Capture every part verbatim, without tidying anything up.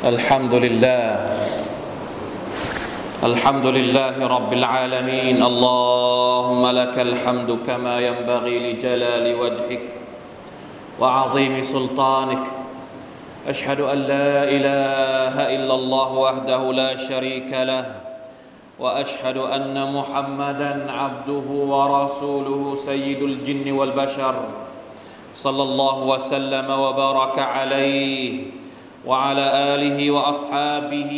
الحمد لله الحمد لله رب العالمين اللهم لك الحمد كما ينبغي لجلال وجهك وعظيم سلطانك أشهد أن لا إله إلا الله وحده لا شريك له وأشهد أن محمدًا عبده ورسوله سيد الجن والبشر صلى الله وسلم وبارك عليه وعلى آله وأصحابه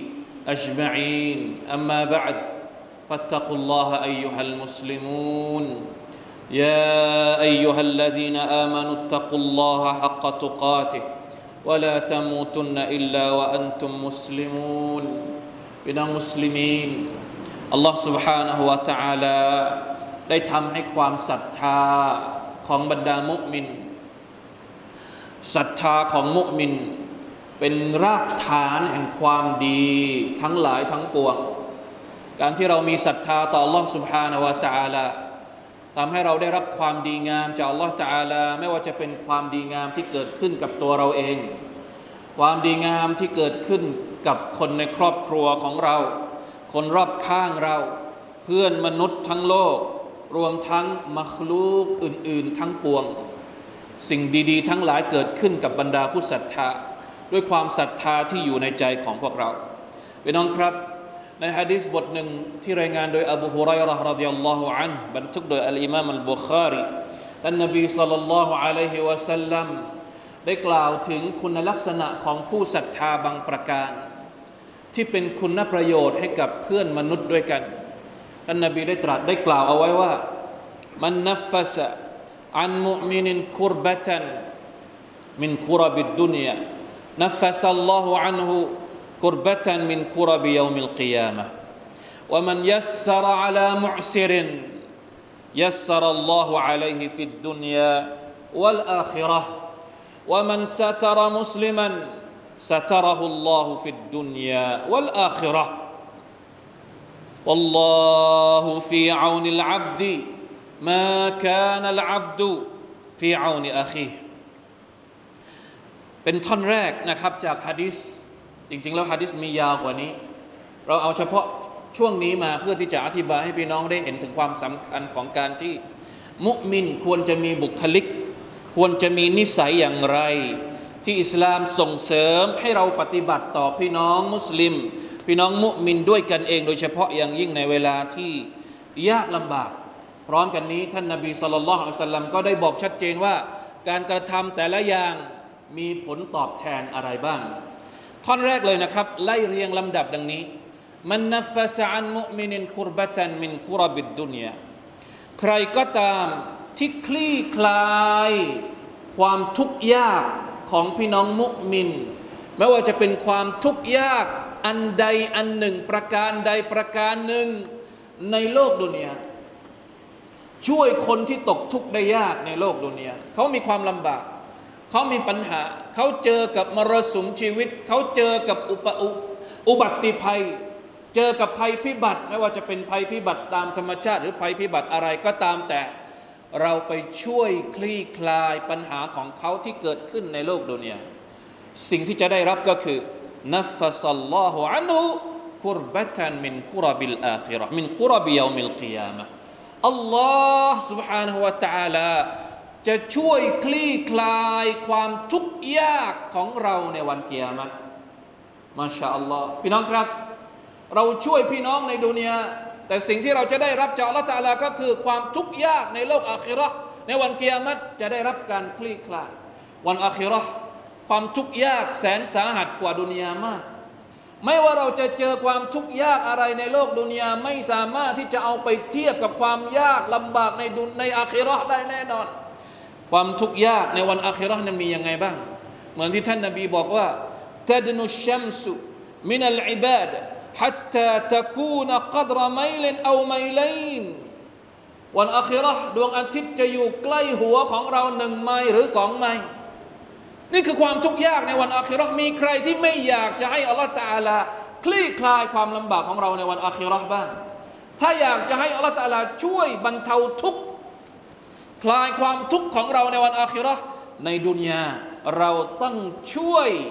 أجمعين أما بعد فاتقوا الله أيها المسلمون يا أيها الذين آمنوا اتقوا الله حق تقاته ولا تموتن إلا وأنتم مسلمون พี่น้องมุสลิมีนอัลลอฮฺ سبحانه และ تعالى ได้ทำให้ความศรัทธาของบรรดามุมินศรัทธาของมุมินเป็นรากฐานแห่งความดีทั้งหลายทั้งปวงการที่เรามีศรัทธาต่อ Allah سبحانه และ تعالى ทำให้เราได้รับความดีงามจาก Allah تعالى ไม่ว่าจะเป็นความดีงามที่เกิดขึ้นกับตัวเราเองความดีงามที่เกิดขึ้นกับคนในครอบครัวของเราคนรอบข้างเราเพื่อนมนุษย์ทั้งโลกรวมทั้งมัคลูกอื่นๆทั้งปวงสิ่งดีๆทั้งหลายเกิดขึ้นกับบรรดาผู้ศรัทธาด้วยความศรัทธาที่อยู่ในใจของพวกเราพี่น้องครับในหะดีษบทหนึ่งที่รายงานโดยอบูฮุไรเราะห์รอฎิยัลลอฮุอันฮุบันทึกโดยอัลอิมามอัลบุคอรีท่านนบีศ็อลลัลลอฮุอะลัยฮิวะซัลลัมได้กล่าวถึงคุณลักษณะของผู้ศรัทธาบางประการที่เป็นคุณประโยชน์ให้กับเพื่อนมนุษย์ด้วยกันท่านนบีได้ตรัสได้กล่าวเอาไว้ว่ามันนัฟฟะซะอันมุอ์มินกุรบะตันมินกุรบิดดุนยานัฟฟะซัลลอฮุอันฮุกุรบะตันมินกุรบิยอมิลกิยามะฮ์วะมันยัสซะรอะลามุอ์ซิรินยัสซะรัลลอฮุอะลัยฮิฟิดดุนยาวัลอาคิเราะห์วะมันซะตะรมุสลิมันستره الله في الدنيا والآخرة والله في عون العبد ما كان العبد في عون أخيه เป็นท่อนแรกนะครับจากหะดีษจริงๆแล้วหะดีษมียาวกว่านี้เราเอาเฉพาะช่วงนี้มาเพื่อที่จะอธิบายให้พี่น้องได้เห็นถึงความสำคัญของการที่มุมินควรจะมีบุคลิกควรจะมีนิสัยอย่างไรที่อิสลามส่งเสริมให้เราปฏิบัติต่อพี่น้องมุสลิมพี่น้องมุมินด้วยกันเองโดยเฉพาะอย่างยิ่งในเวลาที่ยากลำบากพร้อมกันนี้ท่านนบีศ็อลลัลลอฮุอะลัยฮิวะซัลลัมก็ได้บอกชัดเจนว่าการกระทำแต่ละอย่างมีผลตอบแทนอะไรบ้างท่อนแรกเลยนะครับไล่เรียงลำดับดังนี้มันนัฟฟะซะอันมุอ์มินกุรบะตันมินกุรบิดดุนยาใครก็ตามที่คลี่คลายความทุกข์ยากของพี่น้องมุมินไม่ว่าจะเป็นความทุกข์ยากอันใดอันหนึ่งประการใดประการหนึ่งในโลกดุนยาช่วยคนที่ตกทุกข์ได้ยากในโลกดุนยาเขามีความลำบากเขามีปัญหาเขาเจอกับมรสุมชีวิตเขาเจอกับอุปอุอุบัติภัยเจอกับภัยพิบัติไม่ว่าจะเป็นภัยพิบัติตามธรรมชาติหรือภัยพิบัติอะไรก็ตามแต่เราไปช่วยคลี่คลายปัญหาของเขาที่เกิดขึ้นในโลกดุนยาสิ่งที่จะได้รับก็คือนัฟฟะซัลลอฮุอันฮุกุรบะตันมินกุรบิลอาคิเราะห์มินกุรบิยอมิลกิยามะฮ์อัลลอฮ์ سبحانه และ تعالى จะช่วยคลี่คลายความทุกข์ยากของเราในวันกิยามะฮ์มาชาอัลลอฮ์พี่น้องครับเราช่วยพี่น้องในดุนยาแต่สิ่งที่เราจะได้รับจากอัลเลาะห์ตะอาลาก็คือความทุกข์ยากในโลกอาคิเราะห์ในวันกิยามะฮ์จะได้รับการคลี่คลายวันอาคิเราะห์ความทุกข์ยากแสนสาหัสกว่าดุนยามากไม่ว่าเราจะเจอความทุกข์ยากอะไรในโลกดุนยาไม่สามารถที่จะเอาไปเทียบกับความยากลำบากในดุนในอาคิเราะห์ได้แน่นอนความทุกข์ยากในวันอาคิเราะห์นั้นมียังไงบ้างเหมือนที่ท่านนบีบอกว่าตัดนุชชัมซุมินัลอิบาดะحتى تكون قدر ميل أو ميلين วันอาคิเราะห์ดวงอาทิตย์จะอยู่ใกล้หัวของเราหนึ่งไมล์หรือสองไมล์นี่คือความทุกข์ยากในวันอาคิเราะห์มีใครที่ไม่อยากจะให้อัลเลาะห์ตะอาลาคลี่คลายความลำบากของเราในวันอาคิเราะห์บ้างถ้าอยากจะให้อัลเลาะห์ตะอาลาช่วยบรรเทาทุกข์คลายความทุกข์ของเราในวันอาคิเราะห์ในดุนยาเราต้องช่วยค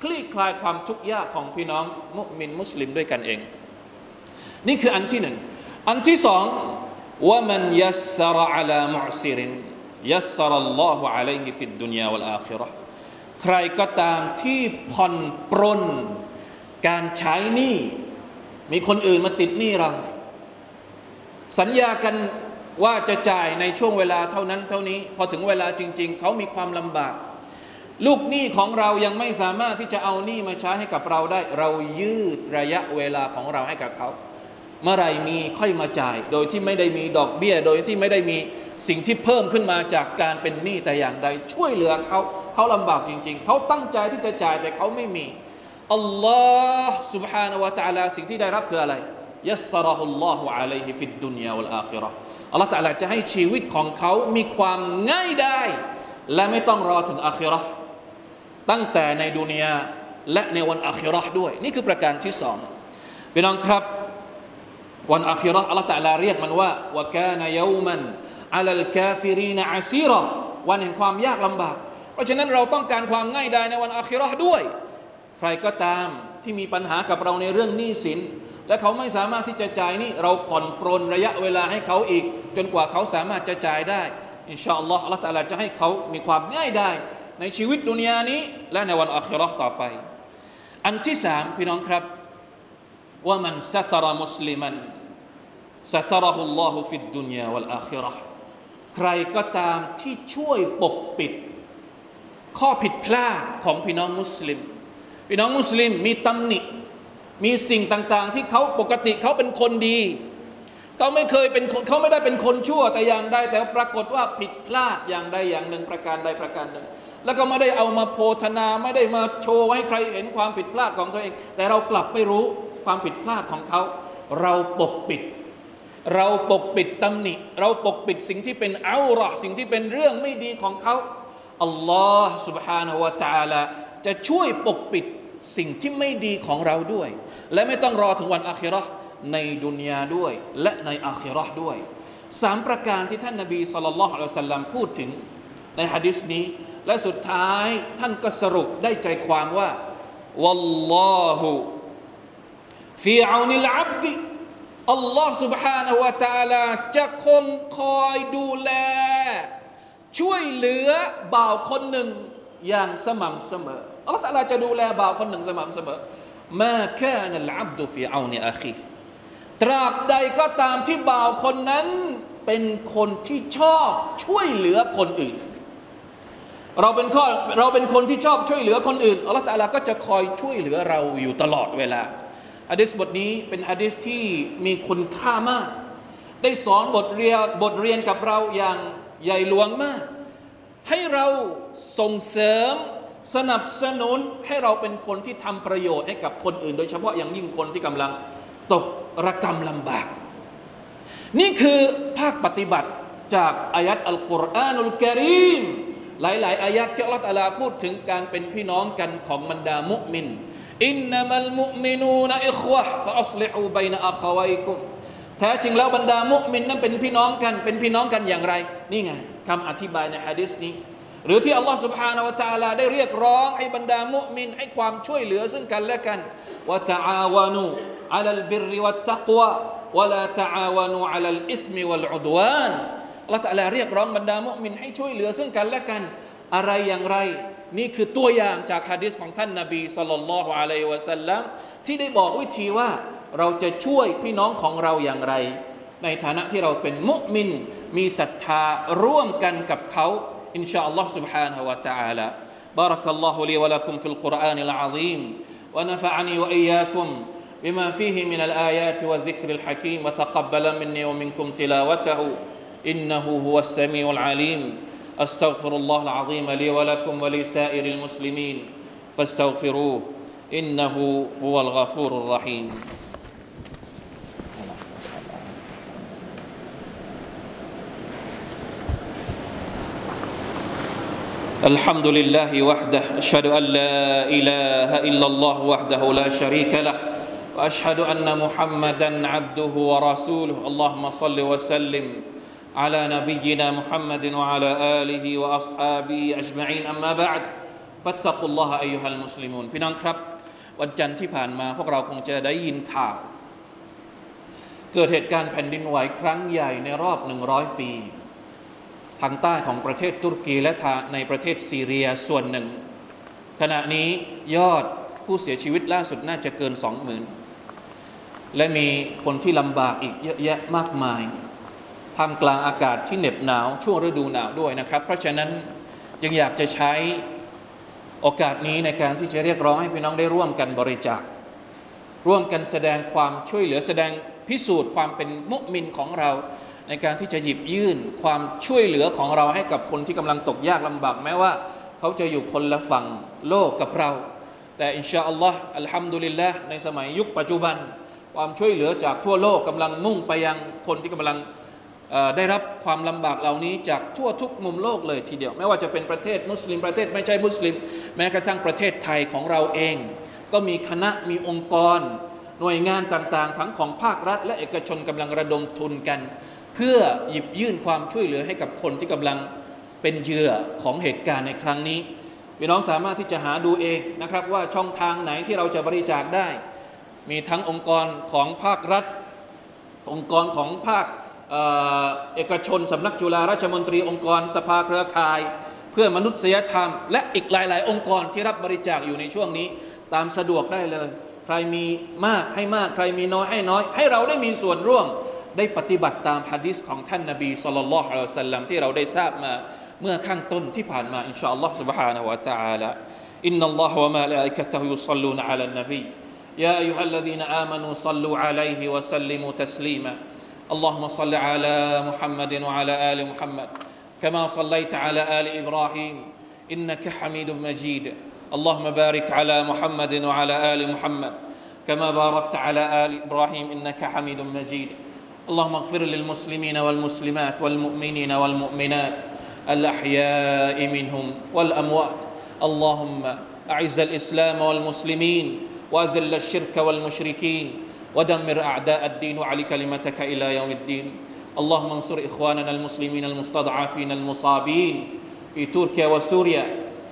คลี่คลายความทุกข์ยากของพี่น้องมุมินมุสลิมด้วยกันเองนี่คืออันที่หนึ่งอันที่สองว่ามันยัสซะรอะลามุอซิรินยัสซะรัลลอฮุอะลัยฮิฟิดดุนยาวัลอาคิเราะห์ใครก็ตามที่ผ่อนปรนการใช้หนี้มีคนอื่นมาติดหนี้เราสัญญากันว่าจะจ่ายในช่วงเวลาเท่านั้นเท่านี้พอถึงเวลาจริงๆเขามีความลำบากลูกหนี้ของเรายังไม่สามารถที่จะเอาหนี้มาใช้ให้กับเราได้เรายืดระยะเวลาของเราให้กับเขาเมื่อไรมีค่อยมาจ่ายโดยที่ไม่ได้มีดอกเบี้ยโดยที่ไม่ได้มีสิ่งที่เพิ่มขึ้นมาจากการเป็นหนี้แต่อย่างใดช่วยเหลือเขาเขาลำบากจริงๆเขาตั้งใจที่จะจ่ายแต่เขาไม่มีอัลลอฮ์ سبحانه และ تعالى สิ่งที่ได้รับคืออะไรยัสซะรอฮุลลอฮุอะลัยฮิฟิดดุนยาวัลอาคิเราะห์อัลลอฮ์ تعالى จะให้ชีวิตของเขามีความง่ายได้และไม่ต้องรอถึงอาคิเราะห์ตั้งแต่ในดุนยาและในวันอาคิเราะห์ด้วยนี่คือประการที่สองพี่น้องครับวันอาคิเราะห์อัลลอฮ์ تعالى เรียกมันว่าวะกานะยอมันอะลัลกาฟิรีนอะซีรอวันแห่งความยากลำบากเพราะฉะนั้นเราต้องการความง่ายดายในวันอาคิเราะห์ด้วยใครก็ตามที่มีปัญหากับเราในเรื่องหนี้สินและเขาไม่สามารถที่จะจ่ายนี่เราผ่อนปรนระยะเวลาให้เขาอีกจนกว่าเขาสามารถจะจ่ายได้อินชาอัลลอฮ์อัลเลาะห์ตะอาลาจะให้เขามีความง่ายได้ในชีวิตดุนยานี้และในวันอาคิเราะห์ต่อไปอันที่สามพี่น้องครับว่ามันซัตรมุสลิมันซัตรฮุลลอฮุฟิดดุนยาวัลอาคิเราะห์ใครก็ตามที่ช่วยปกปิดข้อผิดพลาดของพี่น้องมุสลิมพี่น้องมุสลิมมีตำหนิมีสิ่งต่างๆที่เขาปกติเขาเป็นคนดีเขาไม่เคยเป็นเขาไม่ได้เป็นคนชั่วแต่อย่างใดแต่ปรากฏว่าผิดพลาดอย่างใดอย่างหนึ่งประการใดประการหนึ่งแล้วก็ไม่ได้เอามาโพธนาไม่ได้มาโชว์ให้ใครเห็นความผิดพลาดของตัวเองแต่เรากลับไม่รู้ความผิดพลาดของเขาเราปกปิดเราปกปิดตำหนิเราปกปิดสิ่งที่เป็นเอาเราะห์สิ่งที่เป็นเรื่องไม่ดีของเขาอัลลอฮ์ سبحانه และ تعالى จะช่วยปกปิดสิ่งที่ไม่ดีของเราด้วยและไม่ต้องรอถึงวันอาคิเราะห์ในดุนยาด้วยและในอาคิเราะห์ด้วยสามประการที่ท่านนบีศ็อลลัลลอฮุอะลัยฮิวะซัลลัมพูดถึงในหะดีษนี้และสุดท้ายท่านก็สรุปได้ใจความว่าวัลลอฮุฟีเอานิลอับดอัลลอฮ์ سبحانه และ تعالى จะคงคอยดูแลช่วยเหลือบ่าวคนหนึ่งอย่างสม่ำเสมออัลลอฮฺตะอาลาจะดูแลบ่าวคนหนึ่งสม่ำเสมอมาคานัลอับดุฟีเอานิอาคีตราบใดก็ตามที่บ่าวคนนั้นเป็นคนที่ชอบช่วยเหลือคนอื่นเราเป็นข้อเราเป็นคนที่ชอบช่วยเหลือคนอื่นอัลลอฮฺตะอาลาก็จะคอยช่วยเหลือเราอยู่ตลอดเวลาหะดีษบทนี้เป็นหะดีษที่มีคุณค่ามากได้สอนบทเรียนบทเรียนกับเราอย่างใหญ่หลวงมากให้เราส่งเสริมสนับสนุนให้เราเป็นคนที่ทำประโยชน์ให้กับคนอื่นโดยเฉพาะอย่างยิ่งคนที่กำลังตกระกำลำบากนี่คือภาคปฏิบัติจากอายัดอัลกุรอานุลกะรีมหลายๆอายัดที่อัลเลาะห์ตะอาลาพูดถึงการเป็นพี่น้องกันของบรรดามุมินอินนัมัลมุมินูนอิควะฮ์ฟะอัศลิฮูบัยนะอะคาวอยกุมแท้จริงแล้วบรรดามุมินนั้นเป็นพี่น้องกันเป็นพี่น้องกันอย่างไรนี่ไงคำอธิบายในหะดีษนี้หรือที่อัลลอฮฺ سبحانه และ تعالى ได้เรียกร้องให้บรรดามุมินให้ความช่วยเหลือซึ่งกันและกันวะตะอาวานูอะลัลบิรวัตตักวะวะลาตะอาวานูอะลัลอิษมิวัลอุดวานอัลลอฮฺ تعالى เรียกร้องบรรดามุมินให้ช่วยเหลือซึ่งกันและกันอะไรอย่างไรนี่คือตัวอย่างจากหะดีษของท่านนบีศ็อลลัลลอฮุอะลัยฮิวะซัลลัมที่ได้บอกวิธีว่าเราจะช่วยพี่น้องของเราอย่างไรในฐานะที่เราเป็นมุมินมีศรัทธาร่วมกันกับเขาإن شاء الله سبحانه وتعالى بارك الله لي ولكم في القرآن العظيم ونفعني وإياكم بما فيه من الآيات والذكر الحكيم وتقبل مني ومنكم تلاوته إنه هو السميع العليم أستغفر الله العظيم لي ولكم ولسائر المسلمين فاستغفروه إنه هو الغفور الرحيم الحمد لله وحده أشهد أن لا إله إلا الله وحده لا شريك له وأشهد أن محمدا عبده ورسوله اللهم صل وسلم على نبينا محمد وعلى آله وأصحابه أجمعين أما بعد ฟัตตักุลลอฮะอัยยูฮัลมุสลิมูนพี่น้องครับวันจันทร์ที่ผ่านมาพวกเราคงจะได้ยินข่าวเกิดเหตุการณ์แผ่นดินไหวครั้งใหญ่ในรอบหนึ่งร้อยปีทางใต้ของประเทศตุรกีและในประเทศซีเรียส่วนหนึ่งขณะนี้ยอดผู้เสียชีวิตล่าสุดน่าจะเกินสองหมื่นและมีคนที่ลำบากอีกเยอะแยะมากมายท่ามกลางอากาศที่เหน็บหนาวช่วงฤดูหนาวด้วยนะครับเพราะฉะนั้นจึงอยากจะใช้โอกาสนี้ในการที่จะเรียกร้องให้พี่น้องได้ร่วมกันบริจาคร่วมกันแสดงความช่วยเหลือแสดงพิสูจน์ความเป็นมุมินของเราในการที่จะหยิบยื่นความช่วยเหลือของเราให้กับคนที่กำลังตกยากลำบากแม้ว่าเขาจะอยู่คนละฝั่งโลกกับเราแต่อินชาอัลลอฮ์อัลฮัมดุลิลละห์ในสมัยยุคปัจจุบันความช่วยเหลือจากทั่วโลกกำลังมุ่งไปยังคนที่กำลังได้รับความลำบากเหล่านี้จากทั่วทุกมุมโลกเลยทีเดียวไม่ว่าจะเป็นประเทศมุสลิมประเทศไม่ใช่มุสลิมแม้กระทั่งประเทศไทยของเราเองก็มีคณะมีองค์กรหน่วยงานต่างๆทั้งของภาครัฐและเอกชนกำลังระดมทุนกันเพื่อหยิบยื่นความช่วยเหลือให้กับคนที่กำลังเป็นเหยื่อของเหตุการณ์ในครั้งนี้พี่น้องสามารถที่จะหาดูเองนะครับว่าช่องทางไหนที่เราจะบริจาคได้มีทั้งองค์กรของภาครัฐองค์กรของภาคเอ่อเอกชนสำนักจุฬาราชมนตรีองค์กรสภาเครือข่ายเพื่อมนุษยธรรมและอีกหลายๆองค์กรที่รับบริจาคอยู่ในช่วงนี้ตามสะดวกได้เลยใครมีมากให้มากใครมีน้อยให้น้อยให้เราได้มีส่วนร่วมได้ปฏิบัติตามหะดีษของท่านนบีศ็อลลัลลอฮุอะลัยฮิวะซัลลัมที่เราได้ทราบมาเมื่อข้างต้นที่ผ่านมาอินชาอัลลอฮ์ سبحانه และ تعالى อินนัลลอฮะวะมะลาอิกะตุฮุยุศ็อลลูนอะลันนบียาอัยยูฮัลลซีนาอามานูศ็อลลูอะลัยฮิวะซัลลิมูตัสลีมาاللهم صل على محمد وعلى آل محمد كما صليت على آل إبراهيم إنك حميد مجيد اللهم بارك على محمد وعلى آل محمد كما باركت على آل إبراهيم إنك حميد مجيد اللهم اغفر للمسلمين والمسلمات والمؤمنين والمؤمنات الأحياء منهم والأموات اللهم أعز الإسلام والمسلمين وأذل الشرك والمشركين ودمر أعداء الدين وعلي كلمتك إلى يوم الدين اللهم انصر إخواننا المسلمين المستضعفين المصابين في تركيا وسوريا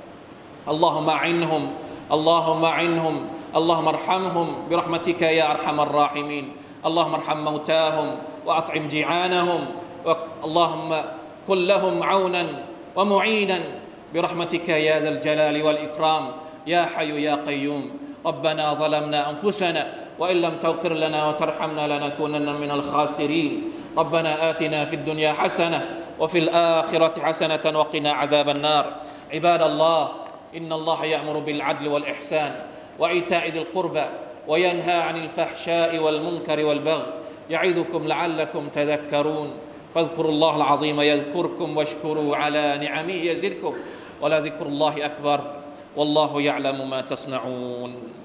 اللهم أعنهم اللهم أعنهم اللهم ارحمهم برحمتك يا أرحم الراحمين اللهم ارحم موتاهم وأطعم جيعانهم اللهم كن لهم عونا ومعينا برحمتك يا ذا الجلال والإكرام يا حي يا قيوم ربنا ظلمنا أنفسنا وإن لم تغفر لنا وترحمنا لنكونن من الخاسرين ربنا آتنا في الدنيا حسنة وفي الآخرة حسنة وقنا عذاب النار عباد الله إن الله يأمر بالعدل والإحسان وإيتاء ذي القربى وينهى عن الفحشاء والمنكر والبغي يعظكم لعلكم تذكرون فاذكروا الله العظيم يذكركم واشكروا على نعمه يزدكم ولذكر الله أكبر والله يعلم ما تصنعون